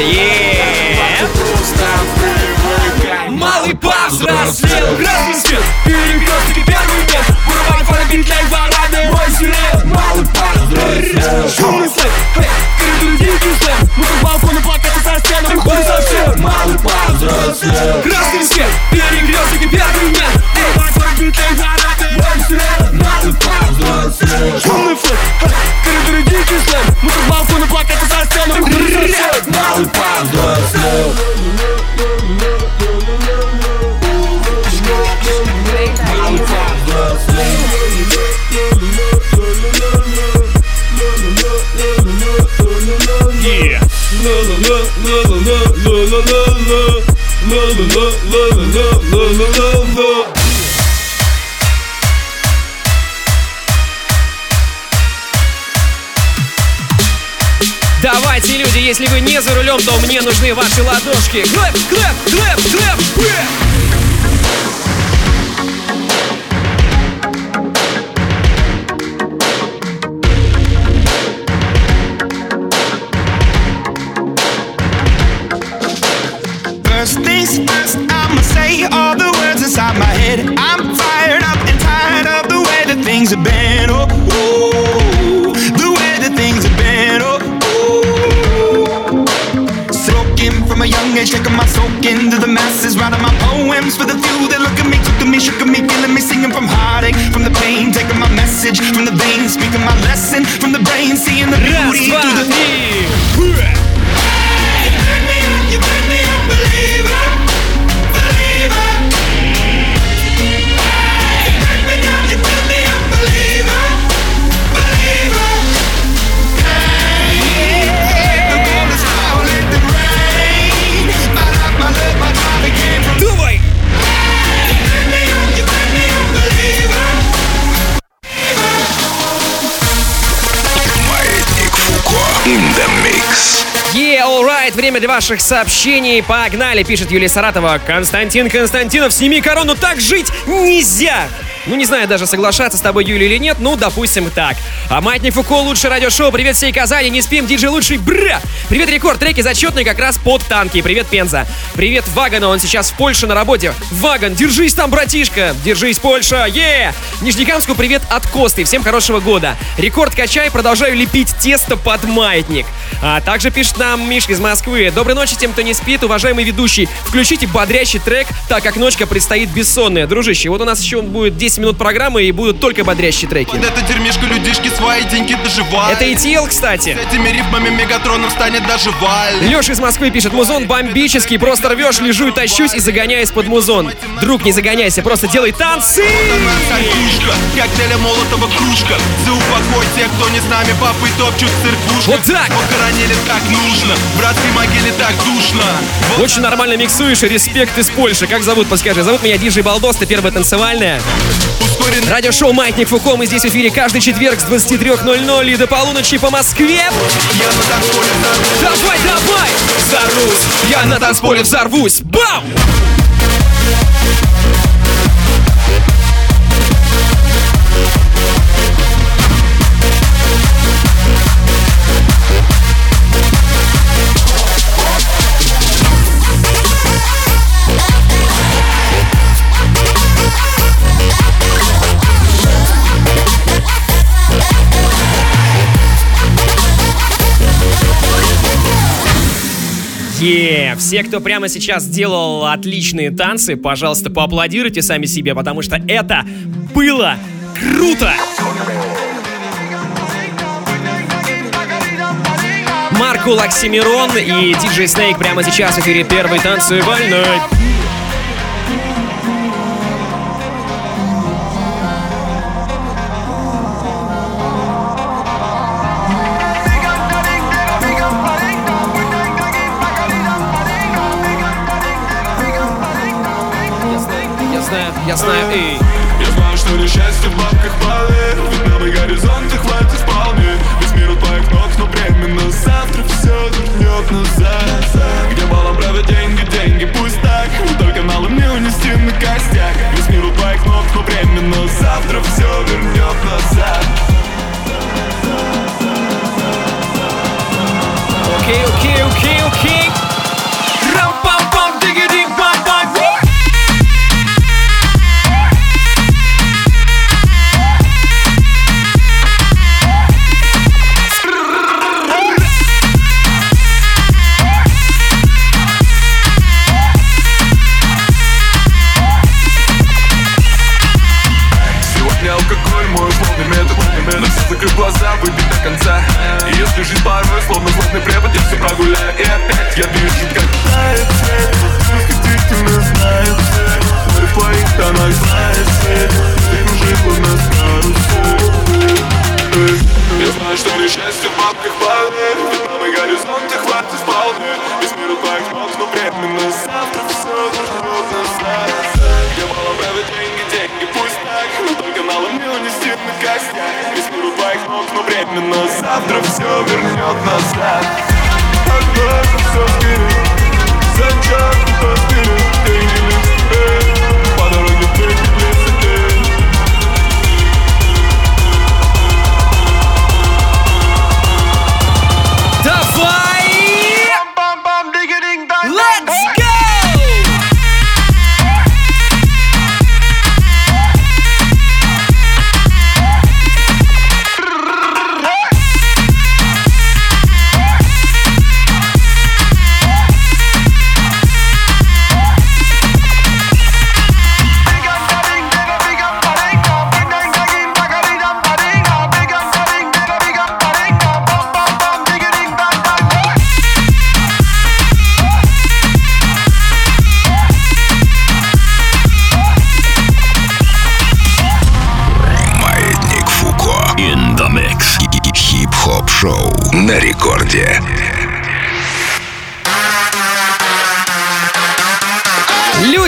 Малый повзрослел. Красный свет, перекресток, первый нет. Вырубай фонограмм для парады. Мой сирен. Малый повзрослел. Шумный слэп, коридор дикий слэм. Мы как балконы плакаты со стены. Хуй совсем. Малый повзрослел. Красный свет, перекресток, первый нет. Вырубай фонограмм для парады. Мой сирен. Малый повзрослел. Шумный слэп, коридор дикий слэм. Мы как балконы плакаты со стены. Хуй совсем. Малый повзрослел. Давайте, люди, если вы не за рулем, то мне нужны ваши ладошки. Клэп, клэп, клэп, клэп, First things first, I'ma say all the words inside my head. I'm fired up and tired of the way that things have been. Oh, ooh, the way that things have been. Oh, ooh. Soaking from a young age, taking my soak into the masses, writing my poems for the few that look at me, took at me, shook at me, feeling me, singing from heartache, from the pain, taking my message from the veins, speaking my lesson from the brain, seeing the beauty through the pain. You make me a believer, believer. You break me down, you make me a believer, believer. The world is falling, the rain. My life, my love, my body came from. Давай! You make me a believer. Маятник Фуко in the mix. alright, время для ваших сообщений. Погнали, пишет Юлия Саратова. Константин Константинов, сними корону, так жить нельзя. Ну, не знаю даже, соглашаться с тобой, Юля, или нет, ну, допустим, так. А Маятник Фуко, лучшее радиошоу, привет всей Казани, не спим, диджей лучший, бра! Привет, Рекорд, треки зачетные как раз под танки, привет, Пенза. Привет, Вагану, он сейчас в Польше на работе. Ваган, держись там, братишка, держись, Польша, Нижнекамску привет от Косты, всем хорошего года. Рекорд качай, продолжаю лепить тесто под маятник. А также пишет нам Мишка из Москвы. Доброй ночи тем, кто не спит, уважаемый ведущий. Включите бодрящий трек, так как ночка предстоит бессонная. Дружище, вот у нас еще будет 10 минут программы и будут только бодрящие треки. Вот это дерьмишко, людишки свои деньги доживают. Это ETL, кстати. С этими рифмами Мегатроном станет даже Валь. Леша из Москвы пишет: музон бомбический, просто рвешь, лежу и тащусь и загоняюсь под музон. Друг, не загоняйся, просто делай танцы. Коктейля Молотова кружка. За упокой тех, кто не с нами, папы топчут в церквушках. Вот так. Похоронили так нужно, в братской могиле так душно. Очень нормально миксуешь, и респект из Польши. Как зовут, подскажи? Зовут меня Диджей Балдос, ты первая танцевальная. Радиошоу «Маятник Фуко». Мы здесь в эфире каждый четверг с 23:00 и до полуночи по Москве. Давай, давай! Взорвусь! Я на танцполе взорвусь! Бам! Все, кто прямо сейчас делал отличные танцы, пожалуйста, поаплодируйте сами себе, потому что это было круто! Маркул Оксимирон и диджей Снейк прямо сейчас в эфире первой танцевальной. Я знаю, эй. Я знаю, что несчастье в бабках поверь. Ведь новый горизонт хватит вполне. Весь мир у твоих ног, но временно завтра все вернет назад. Где балом правят деньги, деньги, пусть так. Но только налом не унести на костях. Весь мир у твоих ног, но временно завтра все вернет назад. Окей. Рам-пам-пам, диги-динг-пам-пам. Закрыв глаза, выпить до конца. И если жизнь порой словно злостный препод, я все прогуляю, и опять я вижу, как тает свет. Восхитительно знаю цель. Море в твоих тонах знает цель. Ты кружит луна с карусель. Я знаю, что несчастье в бабках поверь. Ведь новый горизонт хватит вполне. Весь мир у твоих ног, но временно завтра все вернет назад. Где балом правят деньги, деньги, пусть так. Но только налом не унести на костях. Весь мир у твоих ног, но временно завтра все вернет назад. Отбросим все вперед. Зачем-то вперед. Деньги лишь теперь. По дороге ты близко. Давай! Let's go!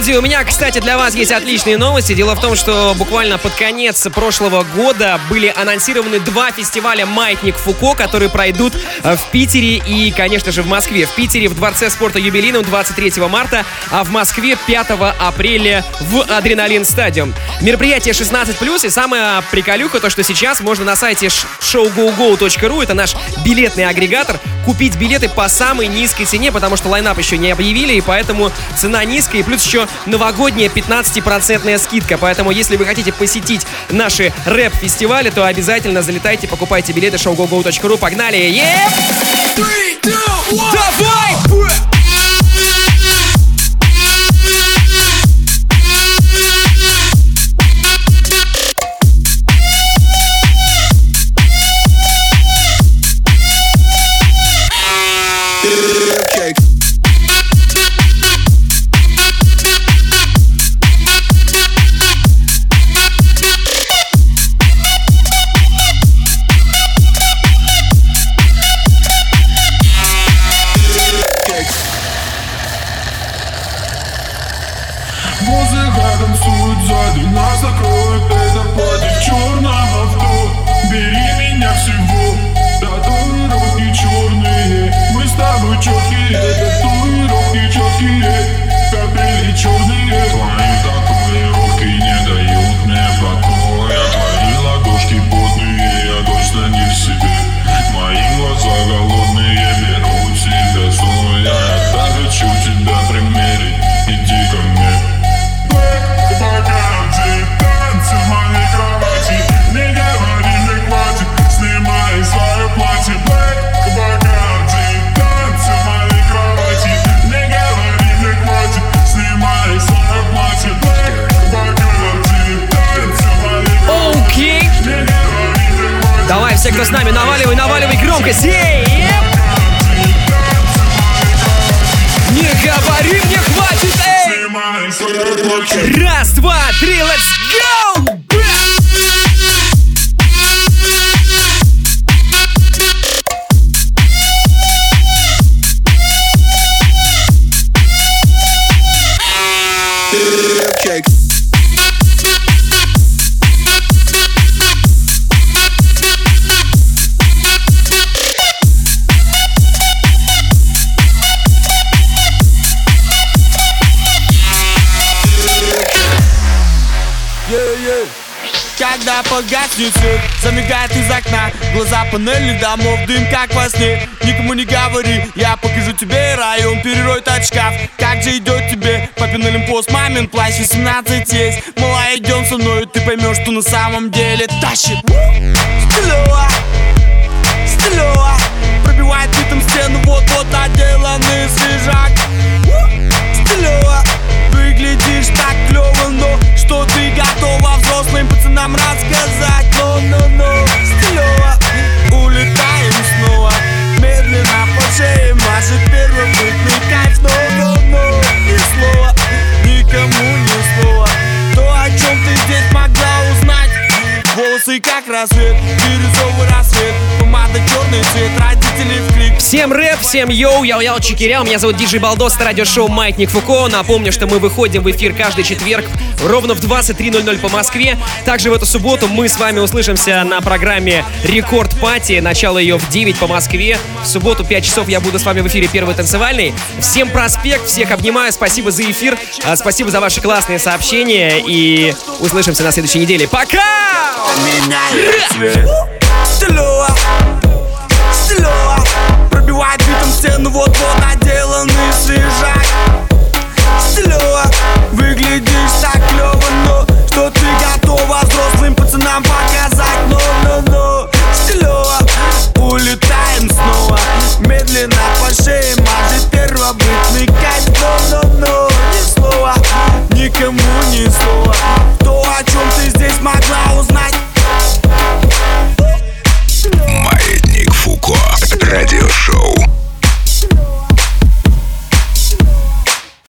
Друзья, у меня, кстати, для вас есть отличные новости. Дело в том, что буквально под конец прошлого года были анонсированы 2 фестиваля «Маятник Фуко», которые пройдут в Питере и, конечно же, в Москве. В Питере в Дворце спорта «Юбилейном» 23 марта, а в Москве 5 апреля в «Адреналин Стадиум». Мероприятие 16+, и самая приколюха то, что сейчас можно на сайте showgogo.ru, это наш билетный агрегатор, купить билеты по самой низкой цене, потому что лайнап еще не объявили, и поэтому цена низкая, и плюс еще новогодняя 15% скидка. Поэтому, если вы хотите посетить наши рэп-фестивали, то обязательно залетайте, покупайте билеты showgogo.ru. Погнали! 3, 2, 1, давай! Музыка танцует сзади, нас закроет это пати в черном авто. Бери меня всего, татуировки черные. Мы с тобой четкие, татуировки четкие. Капели черные. Твои татуировки не дают мне покоя. Твои ладошки потные, я точно не в себе. Мои глаза голодные, берут себя сон. Я так хочу тебя примерить, иди ко мне. Погоди, танцы в моей кровати. Не говори, мне хватит, снимай свое платье. Погоди, танцы в моей кровати. Не говори, мне хватит, снимай свое платье. Погоди, танцы в моей кровати. Окей. Давай, все, кто с нами, наваливай, наваливай громкость. Не говори, мне хватит, эй! Раз, два, три, let's go! Когда погаснет свет, замигает из окна глаза панели домов, дым как во сне. Никому не говори, я покажу тебе район, перероет от шкаф. Как же идет тебе папин олимпос, мамин плащ, 18 есть. Мала, идем со мной, ты поймешь, что на самом деле тащит. Стилева, стилева, пробивает ритм стену, вот-вот наделанный свежак. Стилева, выглядишь так клево, но что ты готова взрослым пацанам рассказать? Но, стилево, улетаем снова. Медленно по шее машет первобытный кайф. Но, ни слова, никому ни слова. То, о чем ты здесь могла узнать. Волосы как рассвет, бирюзовый рассвет. Помада черный цвет, родители в крик. Всем рэп, всем йоу, яу-яу, чекиряу. Меня зовут Диджей Балдос, это радиошоу «Маятник Фуко». Напомню, что мы выходим в эфир каждый четверг ровно в 23:00 по Москве. Также в эту субботу мы с вами услышимся на программе «Рекорд Пати». Начало ее в 9 по Москве. В субботу 5 часов я буду с вами в эфире «Первый танцевальный». Всем проспект, всех обнимаю, спасибо за эфир, спасибо за ваши классные сообщения и услышимся на следующей неделе. Пока! Стилева, стилева, пробивает битом стену, вот